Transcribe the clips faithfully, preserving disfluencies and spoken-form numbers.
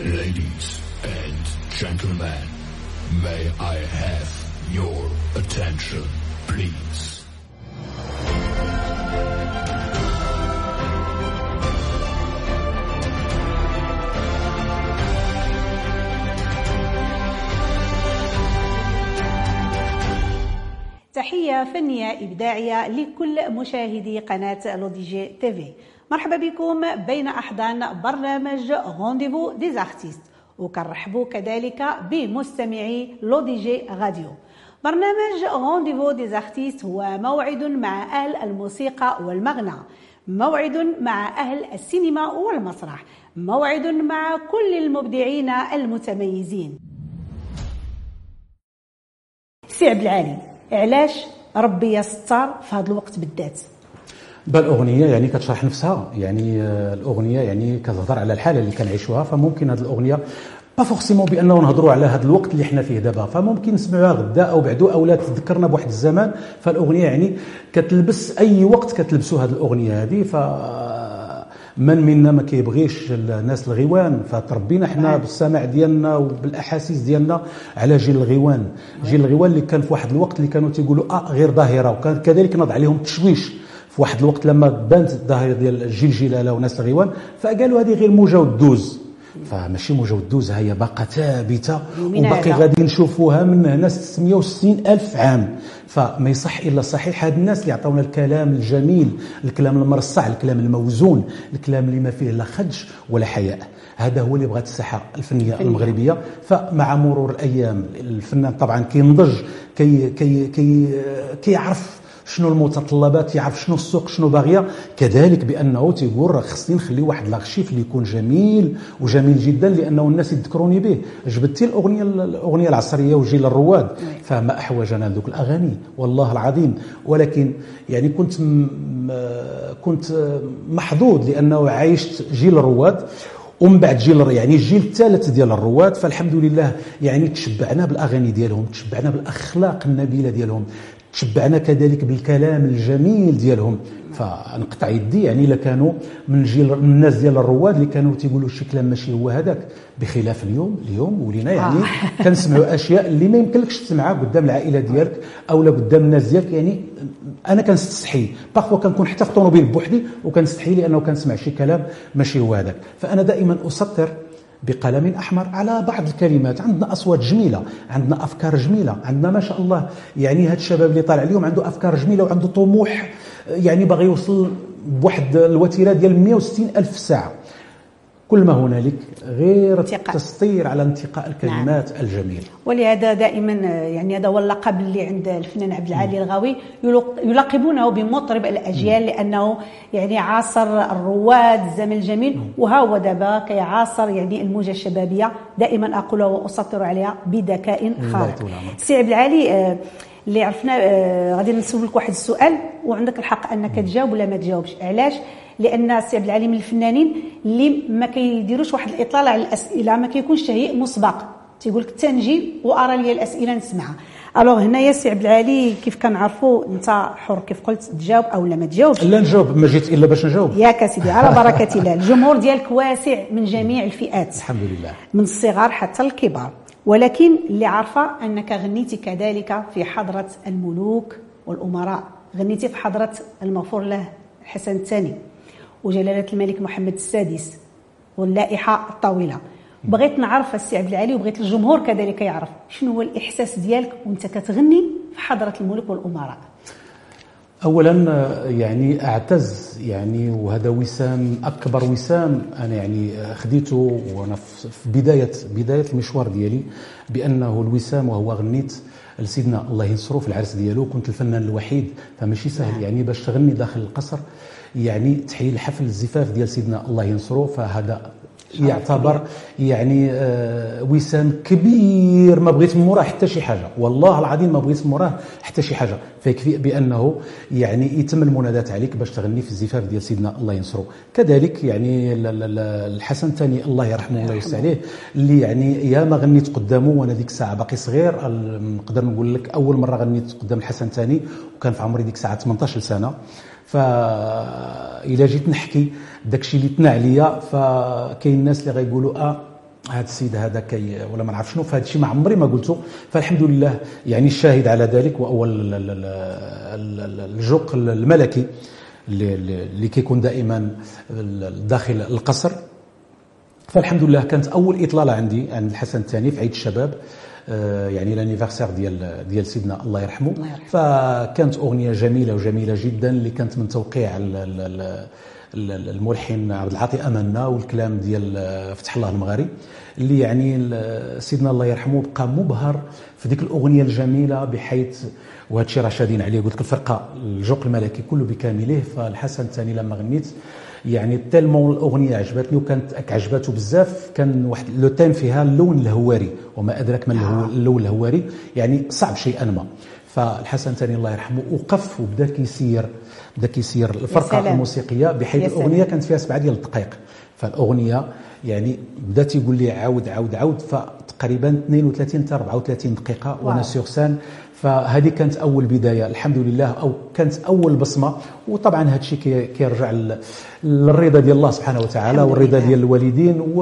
Ladies and gentlemen, may I have your attention, please? تحية فنية إبداعية لكل مشاهدي قناة لوديجي تيفي. مرحبا بكم بين أحضان برنامج رونديفو ديز ارتيست، وكنرحبوا كذلك بمستمعي لوديجي راديو. برنامج رونديفو ديز ارتيست هو موعد مع أهل الموسيقى والمغنى، موعد مع أهل السينما والمسرح، موعد مع كل المبدعين المتميزين. سي عبد العالي، علاش ربي يستر في هذا الوقت بالذات؟ بالاغنيه يعني كتشرح نفسها، يعني الاغنيه يعني كتهضر على الحاله اللي كنعيشوها، فممكن هذه الاغنيه با فورسيمون بانه نهضروا على هذا الوقت اللي حنا فيه دابا، فممكن نسمعوها غدا او بعدو او لا تذكرنا بواحد الزمان. فالاغنيه يعني كتلبس اي وقت كتلبسوا هذه الاغنيه هذه. ف من منا ما كيبغيش الناس الغيوان، فتربينا حنا بالسمع ديالنا وبالاحاسيس ديالنا على جيل الغيوان. جيل الغيوان اللي كان في واحد الوقت اللي كانوا تيقولوا اه غير ظاهره، وكان كذلك نضع عليهم التشويش في واحد الوقت لما بانت الظاهره ديال الجيل جلاله وناس الغيوان، فقالوا هذه غير موجه ودوز. فماشي موجه ودوز، هي باقه ثابته وباقي غادي نشوفوها من هنا ستمائة وستين ألف عام. فما يصح الا صحيح هاد الناس اللي عطاونا الكلام الجميل، الكلام المرصع، الكلام الموزون، الكلام اللي ما فيه لا خدش ولا حياء. هذا هو اللي بغات الساحه الفنيه فنية. المغربيه. فمع مرور الايام الفنان طبعا كينضج، كي كي كي كيعرف شنو المتطلبات، يعرف شنو السوق شنو باغيه، كذلك بانه تيقول راه خصني نخلي واحد لاغشيف اللي يكون جميل وجميل جدا لانه الناس يذكروني به. جبدتي الاغنيه الاغنيه العصريه وجيل الرواد، فما احوجنا ذوك الاغاني والله العظيم. ولكن يعني كنت كنت محظوظ لانه عايشت جيل الرواد ومن بعد جيل يعني الجيل الثالث ديال الرواد. فالحمد لله يعني تشبعنا بالاغاني ديالهم، تشبعنا بالاخلاق النبيله ديالهم، تشبعنا كذلك بالكلام الجميل ديالهم. فنقطع يدي يعني الا كانوا من جيل من الناس ديال الرواد اللي كانوا تيقولوا شي كلام ماشي هو هذاك، بخلاف اليوم. اليوم ولينا يعني آه. كنسمعوا اشياء اللي ما يمكنلكش تسمعها قدام العائله ديالك او لا قدام الناس ديالك. يعني انا كنستحي باغفوا كنكون حتى في طوموبيل بوحدي وكنستحي لانه كنسمع شي كلام ماشي هو هذاك. فانا دائما اسطر بقلم أحمر على بعض الكلمات. عندنا أصوات جميلة، عندنا أفكار جميلة، عندنا ما شاء الله يعني هاد الشباب اللي طالع اليوم عنده أفكار جميلة وعنده طموح، يعني باغي يوصل بواحد الوتيرة ديال مائة وستين ألف ساعة. كل ما هنالك غير التسطير على انتقاء الكلمات نعم. الجميلة. ولهذا دائما يعني هذا هو اللقب اللي عند الفنان عبد العالي الغاوي، يلقبونه بمطرب الأجيال، لأنه يعني عاصر الرواد الزمن الجميل، وها هو دابا كيعاصر يعني الموجة الشبابية. دائما أقول وأسطر عليها بذكاء خارق. سي عبد العالي اللي عرفنا غادي نسولك واحد السؤال وعندك الحق أنك تجاوب ولا ما تجاوبش. علاش؟ لان سي عبد العالي من الفنانين اللي ما كيديروش واحد الاطلاله على الاسئله، ما كيكونش تهيئ مسبق، تيقول لك تنجي وارى لي الاسئله نسمعها. الوغ هنايا سي عبد العالي كيف كنعرفوا انت حر، كيف قلت تجاوب او لا ما تجاوبش. لا نجاوب، ما جيت الا باش نجاوب. ياك سيدي على بركه الله. الجمهور ديالك واسع من جميع الفئات الحمد لله، من الصغار حتى الكبار. ولكن اللي عارفه انك غنيتي كذلك في حضره الملوك والامراء، غنيتي في حضره المغفور له الحسن الثاني وجلالة الملك محمد السادس واللائحة الطويلة. بغيت نعرف السي عبد العالي وبغيت الجمهور كذلك يعرف شنو هو الإحساس ديالك وانت كتغني في حضرة الملوك والأمراء. أولا يعني أعتز يعني، وهذا وسام أكبر وسام أنا يعني خديته وأنا في بداية بداية المشوار ديالي، بأنه الوسام وهو غنيت لسيدنا الله ينصرو في العرس ديالو. كنت الفنان الوحيد، فماشي سهل يعني باش تغني داخل القصر، يعني تحيي الحفل الزفاف ديال سيدنا الله ينصرو. فهذا يعتبر يعني آه وسام كبير، ما بغيت من موراه حتى شي حاجه، والله العظيم ما بغيت من موراه حتى شي حاجه. فيكفي بانه يعني يتم المنادات عليك باش تغني في الزفاف ديال سيدنا الله ينصرو. كذلك يعني الحسن الثاني الله يرحمه الله يوسع عليه، اللي يعني يا ما غنيت قدامه وانا ديك الساعه باقي صغير. نقدر نقول لك اول مره غنيت قدام الحسن الثاني وكان في عمري ديك الساعه ثمانطاش سنه. فإلا جيت نحكي داكشي اللي تنا عليا، فكاين الناس اللي غيقولوا اه هذا السيد هذا كي ولا ما نعرف شنو، فهذا الشيء ما عمري ما قلته. فالحمد لله يعني الشاهد على ذلك، واول الجوق الملكي اللي كيكون دائما داخل القصر. فالحمد لله كانت اول اطلاله عندي عن الحسن الثاني في عيد الشباب، يعني لانيفرسير ديال ديال سيدنا الله يرحمه. فكانت اغنيه جميله وجميله جدا اللي كانت من توقيع الملحن عبد العاطي امنا والكلام ديال فتح الله المغاري، اللي يعني سيدنا الله يرحمه بقى مبهر في ديك الاغنيه الجميله، بحيث وهذا الشيء راه شادين عليه. قلت لك الفرقه الجوق الملكي كله بكامله. فالحسن الثاني لما غنيت يعني تالمون الاغنيه عجبتني وكانت عجبته بزاف. كان واحد لو تيم فيها اللون الهواري، وما ادراك ما اللون الهواري، يعني صعب شيئا ما. فالحسن الثاني الله يرحمه وقف وبدا كيسير بدا كيسير الفرقه الموسيقيه، بحيث الاغنيه كانت فيها سبعه ديال الدقائق. فالاغنيه يعني بدا تيقول لي عاود عاود عاود، فتقريبا اثنين وثلاثين حتى أربعة وثلاثين دقيقه وانا سور سان. فهذه كانت اول بدايه الحمد لله، او كانت اول بصمه. وطبعا هذا الشيء كيرجع للرضا ديال الله سبحانه وتعالى والرضا ديال الوالدين، و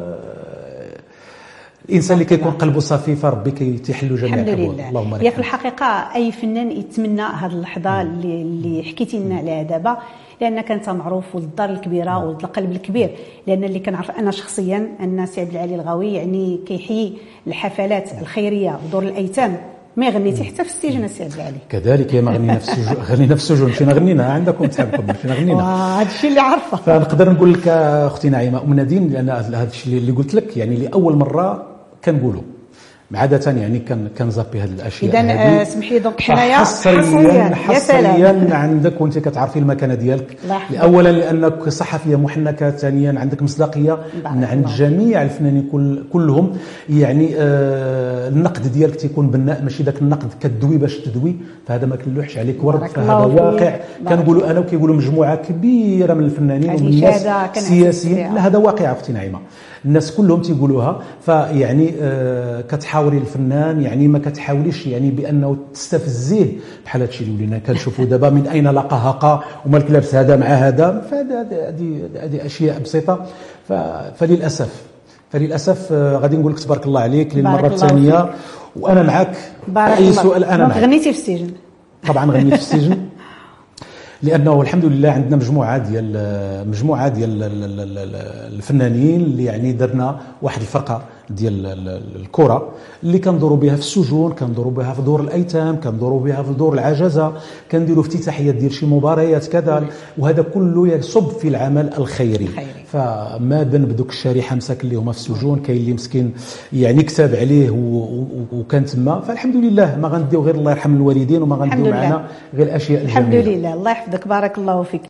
الانسان اللي كيكون قلبه صافي فربي كيتحلوا جميع الحلول. اللهم لك. هي في الحقيقه اي فنان يتمنى هذه اللحظه اللي, اللي حكيتي لنا عليها دابا، لان كانت معروف والدار الكبيره والقلب الكبير. لان اللي كنعرف انا شخصيا ان سي عبد العالي الغاوي يعني كيحيي الحفلات الخيريه ودور الايتام. ما غنيتي حتى في السجن السي عبد العالي. كذلك ما غنينا في السجن، غنينا في السجن مشينا غنينا عندكم تحبكم مشينا غنينا. هذا الشيء اللي عارفه. فنقدر نقول لك اختي نعيمه ام نادين، لان هذا الشيء اللي قلت لك يعني لاول مره كنقولوا عادة، يعني كان كنزابي هذه الاشياء. اذا اسمح لي دونك حنايا حصريا حصريا عندك وانت كتعرفي المكانه ديالك. اولا لانك صحفيه محنكه، ثانيا عندك مصداقيه من عند جميع الفنانين كل كلهم. يعني آه النقد ديالك تيكون بناء، ماشي ذاك النقد كتدوي باش تدوي، فهذا ما كنلوحش عليك ورد. فهذا واقع كنقولوا انا وكيقولوا مجموعه كبيره من الفنانين ومن الناس السياسيين. لا هذا واقع اختي نعيمه، الناس كلهم تيقولوها. فيعني آه كتحاوري الفنان، يعني ما كتحاوليش يعني بانه تستفزيه بحال هادشي اللي ولينا كنشوفوا دابا، من اين لقى هقا ومالك لابس هذا مع هذا. فهذه هذه هذه اشياء بسيطه. فللاسف فللاسف غادي نقول لك تبارك الله عليك للمره الثانيه، وانا معك اي سؤال. انا معك. غنيتي في السجن؟ طبعا غنيت في السجن، لانه الحمد لله عندنا مجموعه ديال مجموعه ديال الفنانين اللي يعني درنا واحد الفرقه ديال الكره اللي كندوروا بها في السجون، كندوروا بها في دور الايتام، كندوروا بها في دور العجزه، كنديروا افتتاحيات ديال شي مباريات كذا. وهذا كله يصب في العمل الخيري. فما ذنب دوك الشريحه مساكن اللي هما في السجون، كاين اللي مسكين يعني كتاب عليه وكان تما. فالحمد لله ما غنديو غير الله يرحم الوالدين، وما غنديو معنا غير الاشياء الجميله. الحمد لله. الله يحفظك، بارك الله فيك.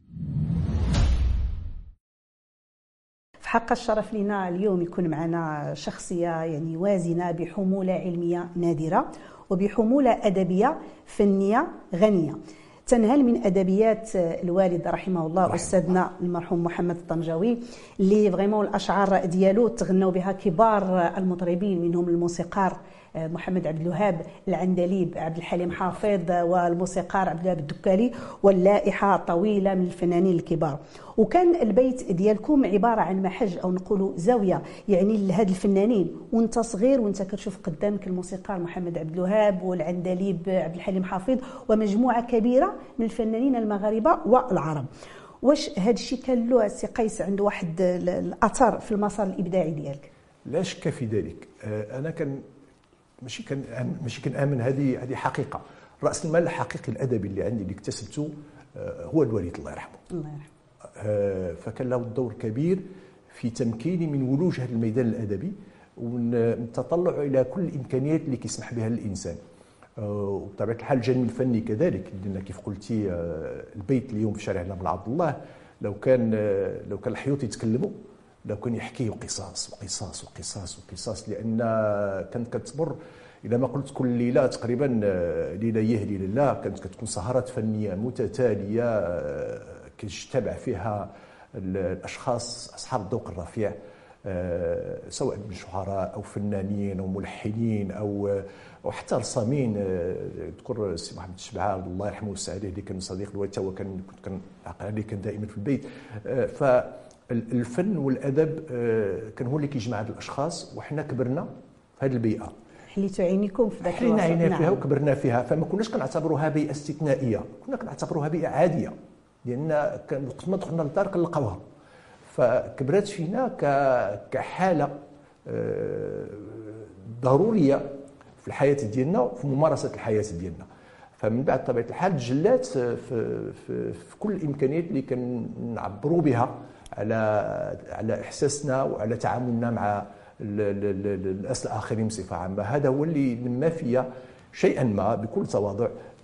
حق الشرف لنا اليوم يكون معنا شخصية يعني وازنة بحمولة علمية نادرة وبحمولة أدبية فنية غنية، تنهل من أدبيات الوالد رحمه الله أستاذنا المرحوم محمد الطنجاوي، اللي فريمون الأشعار ديالو تغنوا بها كبار المطربين، منهم الموسيقار محمد عبد الوهاب، العندليب عبد الحليم حافظ، والموسيقار عبد الوهاب الدكالي، واللائحة طويلة من الفنانين الكبار. وكان البيت ديالكم عبارة عن محج أو نقولوا زاوية يعني لهاد الفنانين، وانت صغير وانت كتشوف قدامك الموسيقار محمد عبد الوهاب والعندليب عبد الحليم حافظ ومجموعة كبيرة من الفنانين المغاربة والعرب. واش هاد الشيء كان له سي قيس عنده واحد الأثر في المسار الإبداعي ديالك؟ لا شك في ذلك. أنا كان ماشي كان ماشي كنآمن، هذه هذه حقيقه. راس المال الحقيقي الادبي اللي عندي اللي اكتسبته هو الوالد الله يرحمه. الله يرحمه. فكان له دور كبير في تمكيني من ولوج هذا الميدان الادبي والتطلع الى كل الامكانيات اللي كيسمح بها الانسان. وبطبيعه الحال الجانب الفني كذلك، لان كيف قلتي البيت اليوم في شارع نابل عبد الله لو كان لو كان الحيوط يتكلموا لو كان يحكيوا قصص وقصص وقصص وقصص، لان كانت كتمر الى ما قلت كل ليله تقريبا ليله يهدي لله، كانت كتكون سهرات فنيه متتاليه كيجتمع فيها الاشخاص اصحاب الذوق الرفيع، سواء من شعراء او فنانين او ملحنين او وحتى رسامين. اذكر السي محمد الشبعه الله يرحمه ويسع عليه اللي كان صديق الوالد، هو كان كنت كنعقل عليه، كان دائما في البيت. ف الفن والادب كان هو اللي كيجمع هاد الاشخاص، وحنا كبرنا في هذه البيئه، حليتوا عينيكم في ذاك حلينا الوقت. عينا فيها نعم. وكبرنا فيها، فما كناش كنعتبروها بيئه استثنائيه، كنا كنعتبروها بيئه عاديه، لان كان وقت ما دخلنا للدار كنلقاوها، فكبرت فينا كحاله ضروريه في الحياه ديالنا وفي ممارسه الحياه ديالنا. فمن بعد طبيعه الحال تجلات في, في, في كل الامكانيات اللي كنعبروا بها على على احساسنا وعلى تعاملنا مع الناس الاخرين بصفه عامه. هذا هو اللي نما فيا شيئا ما بكل تواضع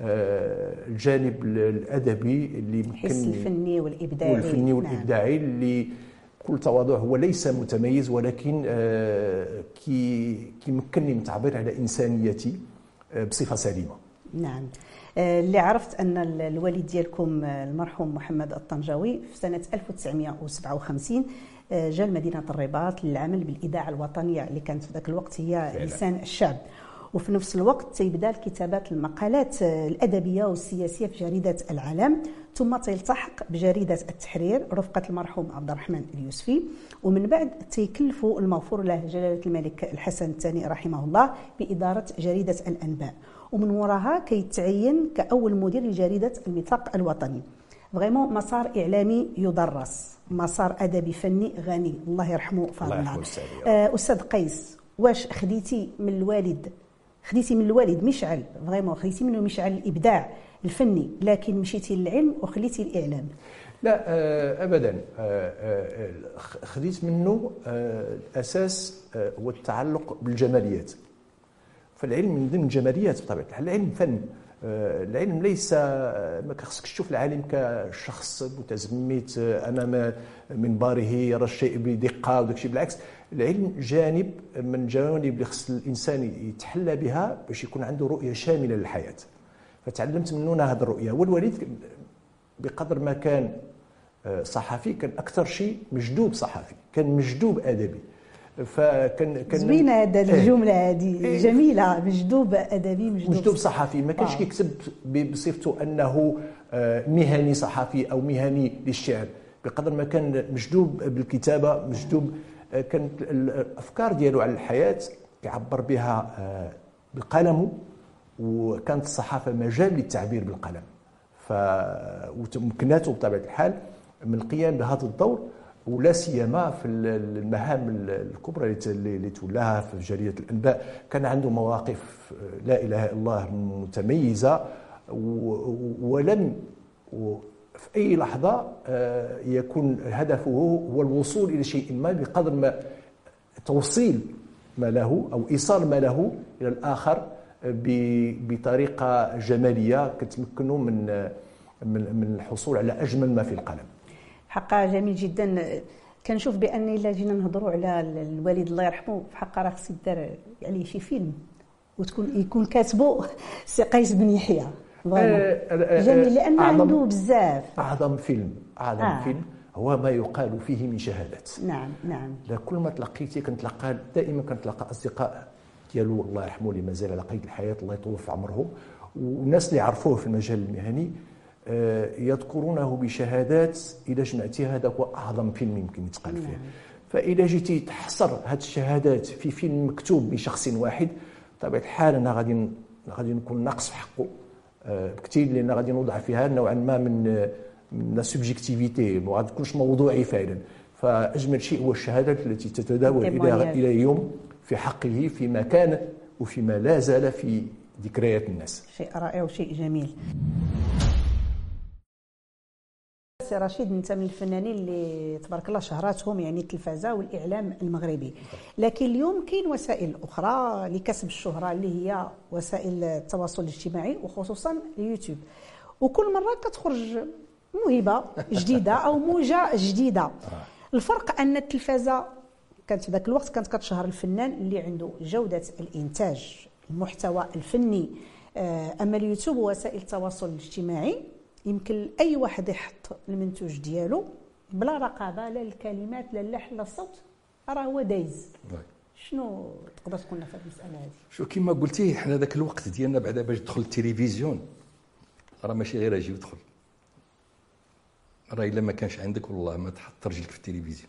الجانب الادبي اللي الحس الفني والابداعي والفني والابداعي نعم. اللي بكل تواضع هو ليس متميز، ولكن كي كيمكنني من التعبير على انسانيتي بصفه سليمه. نعم. اللي عرفت ان الوالد ديالكم المرحوم محمد الطنجاوي في سنه ألف وتسعمائة وسبعة وخمسين جاء لمدينه الرباط للعمل بالاذاعه الوطنيه اللي كانت في ذاك الوقت هي فعلا. لسان الشعب، وفي نفس الوقت تيبدا كتابات المقالات الادبيه والسياسيه في جريده العالم، ثم تلتحق بجريده التحرير رفقه المرحوم عبد الرحمن اليوسفي، ومن بعد تيكلفوا المغفور له جلاله الملك الحسن الثاني رحمه الله باداره جريده الانباء، ومن وراها كيتعين كاول مدير لجريده الميثاق الوطني. فريمون مسار اعلامي يدرس، مسار ادبي فني غني، الله يرحمه فاضلنا. استاذ قيس، واش خديتي من الوالد خديتي من الوالد مشعل فريمون خديتي منه مشعل الابداع الفني، لكن مشيتي للعلم وخليتي الاعلام؟ لا ابدا، خديت منه الاساس هو التعلق بالجماليات، فالعلم من ضمن الجماليات بطبيعه الحال. العلم فن، العلم ليس ما خصكش تشوف العالم كشخص متزمت امام منبره يرى الشيء بدقه وداك الشيء، بالعكس العلم جانب من الجوانب اللي خص الانسان يتحلى بها باش يكون عنده رؤيه شامله للحياه. فتعلمت منه هذه الرؤيه. والوالد بقدر ما كان صحفي كان اكثر شيء مجدوب صحفي، كان مجدوب ادبي. فكان كان زوينه هذه الجمله هذه إيه جميله، مجدوب ادبي مجدوب, مجدوب صحفي. ما كانش كيكتب بصفته انه مهني صحفي او مهني للشعر، بقدر ما كان مجدوب بالكتابه، مجدوب كانت الافكار ديالو على الحياه يعبر بها بالقلم، وكانت الصحافه مجال للتعبير بالقلم، ف وتمكناته بطبيعه الحال من القيام بهذا الدور، ولا سيما في المهام الكبرى اللي تولاها في جريده الانباء. كان عنده مواقف لا اله الا الله متميزه، ولم في اي لحظه يكون هدفه هو الوصول الى شيء ما بقدر ما توصيل ما له او ايصال ما له الى الاخر بطريقه جماليه كتمكنه من من الحصول على اجمل ما في القلم. حقا جميل جدا. كنشوف بان الا جينا نهضروا على الوالد الله يرحمه، في حقا راه خص يدار عليه شي فيلم وتكون يكون كاتبه سي قيس بن يحيى. جميل، لان عنده بزاف. اعظم فيلم اعظم آه. فيلم هو ما يقال فيه من شهادات. نعم نعم. كل ما تلقيتي كنتلقى دائما كنتلقى اصدقاء ديالو الله يرحمه اللي مازال على قيد الحياه الله يطول في عمرهم، والناس اللي عرفوه في المجال المهني يذكرونه بشهادات. إذا جمعتي هذا هو أعظم فيلم يمكن يتقال فيه. فإذا جيتي تحصر هذه الشهادات في فيلم مكتوب بشخص واحد، بطبيعة الحال أنا غادي غادي نكون ناقص في حقه بكثير، لأن غادي نوضع فيها نوعا ما من من لا سوبجيكتيفيتي، ما غادي تكونش موضوعي فعلا. فأجمل شيء هو الشهادات التي تتداول إلى إلى اليوم في حقه فيما كان وفيما لا زال في ذكريات الناس. شيء رائع وشيء جميل. سي رشيد، انت من الفنانين اللي تبارك الله شهراتهم يعني التلفازه والاعلام المغربي، لكن اليوم كاين وسائل اخرى لكسب الشهره اللي هي وسائل التواصل الاجتماعي وخصوصا اليوتيوب، وكل مره كتخرج موهبه جديده او موجه جديده. الفرق ان التلفازه كانت في ذاك الوقت كانت كتشهر الفنان اللي عنده جوده الانتاج المحتوى الفني، اما اليوتيوب ووسائل التواصل الاجتماعي يمكن اي واحد يحط المنتوج ديالو بلا رقابه، لا الكلمات لا اللحن لا الصوت، راه هو دايز. شنو تقدر تقول لنا في هذه المساله هذه؟ شو كما قلتي حنا ذاك الوقت ديالنا بعدا باش تدخل التلفزيون راه ماشي غير اجي ودخل، راه الا ما كانش عندك والله ما تحط رجلك في التلفزيون.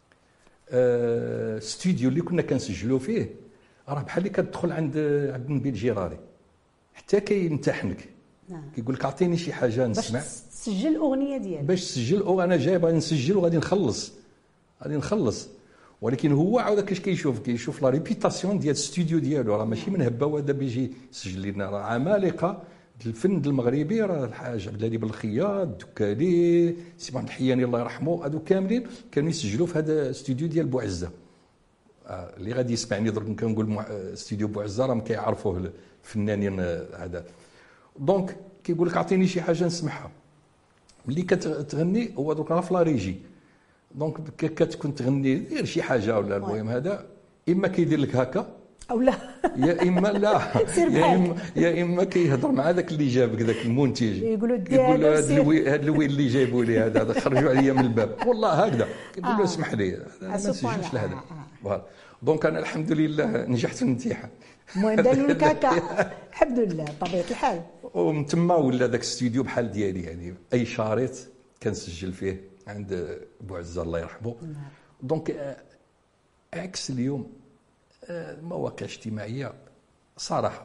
آه ستوديو اللي كنا كنسجلوا فيه راه بحال اللي كتدخل عند عبد النبيل الجيراري حتى كيمتحنك. نعم. كيقول لك اعطيني شي حاجه نسمع باش تسجل الاغنيه ديالك، باش تسجل او انا جاي باغي نسجل وغادي نخلص غادي نخلص. ولكن هو عاود كاش كيشوف كيشوف لا ريبيتاسيون ديال الاستوديو ديالو، راه ماشي من هبه وهذا بيجي يسجل لنا، راه عمالقه الفن المغربي، راه الحاج عبد الهادي بالخياط، الدكالي، سي محمد الحياني الله يرحمه، هادو كاملين كانوا يسجلوا في هذا الاستوديو ديال بوعزه. آه اللي غادي يسمعني درك كنقول مع... استوديو بوعزه راه ما كيعرفوه الفنانين هذا. دونك كيقول لك اعطيني شي حاجه نسمعها. ملي كتغني هو درك راه في لا ريجي، دونك كتكون تغني دير شي حاجه ولا المهم هذا، اما كيدير لك هكا او لا يا اما لا يا اما يا اما كيهضر مع هذاك اللي جابك ذاك المنتج، يقولوا يقول له هذا الوي هذا الوي اللي جايبوا لي هذا خرجوا عليا من الباب والله هكذا، كيقول له اسمح لي ما نسجلش لهذا. فوالا دونك انا الحمد لله نجحت في الامتحان. المهم داروا لك هكا الحمد لله بطبيعه الحال. ومن تما ولا ذاك الاستوديو بحال ديالي، يعني اي شريط كنسجل فيه عند بوعزه الله يرحمه. دونك عكس اليوم المواقع الاجتماعيه صراحه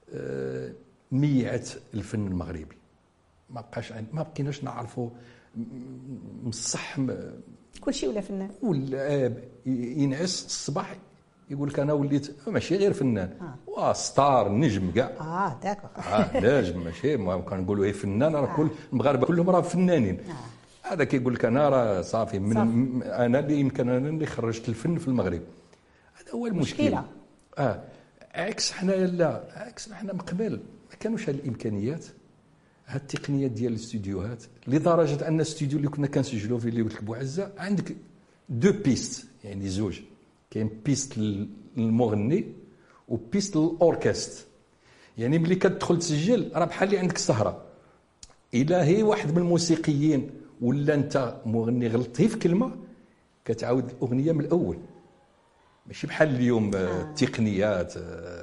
ميعت الفن المغربي، ما بقاش ما بقيناش نعرفوا مصح كل شيء ولا فنان، ولا ينعس الصباح يقول لك انا وليت ماشي غير فنان، وا ستار نجم كاع. اه داكور اه نجم ماشي ما كنقولوا هي فنان، راه كل المغاربه كلهم راه فنانين. آه. هذا كيقول لك انا راه صافي من صافي. انا اللي يمكن انا اللي خرجت الفن في المغرب، هذا هو المشكل. مشكلة. اه عكس حنا لا عكس حنا من قبل ما كانوش هاد الامكانيات، هاد التقنيات ديال الاستوديوهات، لدرجه ان الاستوديو اللي كنا كنسجلوا فيه اللي قلت لك بوعزه عندك دو بيست، يعني زوج، كاين بيست للمغني وبيست للاوركست. يعني ملي كتدخل تسجل راه بحال اللي عندك السهره، الا هي واحد من الموسيقيين ولا انت مغني غلطتي في كلمه كتعاود الاغنيه من الاول، ماشي بحال اليوم التقنيات.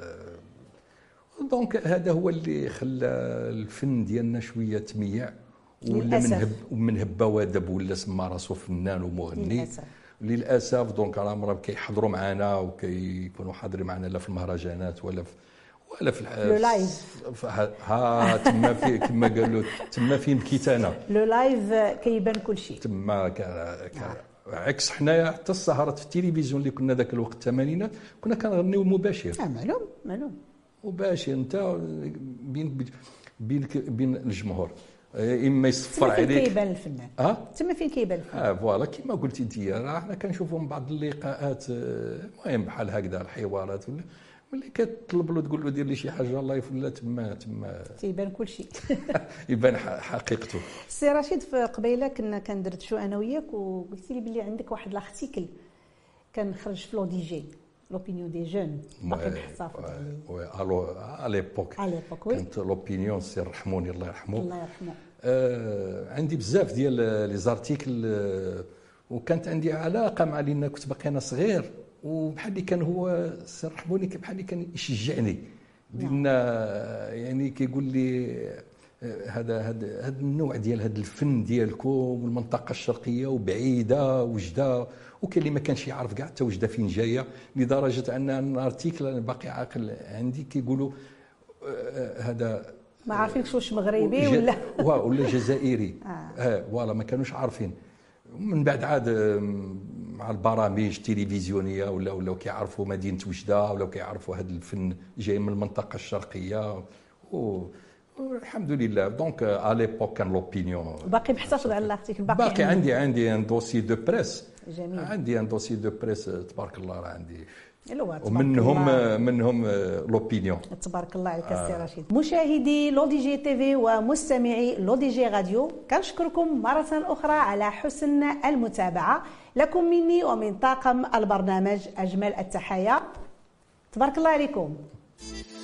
دونك هذا هو اللي خلى الفن ديالنا شويه تميع، ولا من هب من هبه ودب ولا سما راسو فنان ومغني للاسف. للاسف دونك راه مرات كيحضروا معنا وكيكونوا حاضرين معنا لا في المهرجانات ولا في ولا في لو لايف ها تما في كما قالوا تما فين بكيت انا لو لايف كيبان كل شيء تما عكس حنايا حتى السهرات في التلفزيون اللي كنا ذاك الوقت الثمانينات كنا كنغنيو مباشر. اه معلوم معلوم مباشر انت بين بين بين الجمهور، اما يصفر عليك تما فين كيبان الفنان. اه تما فين كيبان الفنان. اه فوالا كما قلتي انت، راه حنا كنشوفوا من بعض اللقاءات المهم بحال هكذا الحوارات ولا ملي كتطلب له تقول له دير لي شي حاجه الله يفلا تما تما تيبان كل شيء يبان حقيقته. سي رشيد في قبيله كنا كندردشوا انا وياك وقلتي لي بلي عندك واحد لارتيكل كان خرج في لو دي جي لوبينيون دي جون باقي محتفظ عليه. وي الو على ليبوك على ليبوك وي كانت لوبينيون سي رحموني الله يرحمه الله يرحمه. آه عندي بزاف ديال لي زارتيكل آه وكانت عندي علاقه مع لان كنت باقي انا صغير وبحال اللي كان هو سي رحموني بحال اللي كان يشجعني لان يعني كيقول لي هذا هذا هذا النوع ديال هذا الفن ديالكم والمنطقه الشرقيه وبعيده وجده، وكاين اللي ما كانش يعرف كاع حتى وجده فين جايه، لدرجه ان الارتيكل باقي عاقل عندي كيقولوا هذا ما عارفينش واش مغربي ولا ولا جزائري. اه فوالا ما كانوش عارفين. من بعد عاد مع البرامج التلفزيونيه ولا ولا كيعرفوا مدينه وجده ولا كيعرفوا هذا الفن جاي من المنطقه الشرقيه و الحمد لله. دونك ا ليبوك كان لوبينيون باقي محتفظ على الارتيكل باقي, باقي عندي عندي ان دوسي دو بريس. جميل. عندي ان دوسي دو بريس تبارك الله راه عندي ومنهم منهم لوبينيون تبارك الله عليك السي آه. رشيد. مشاهدي لو دي جي تي في ومستمعي لو دي جي راديو كنشكركم مرة أخرى على حسن المتابعة. لكم مني ومن طاقم البرنامج أجمل التحايا. تبارك الله عليكم.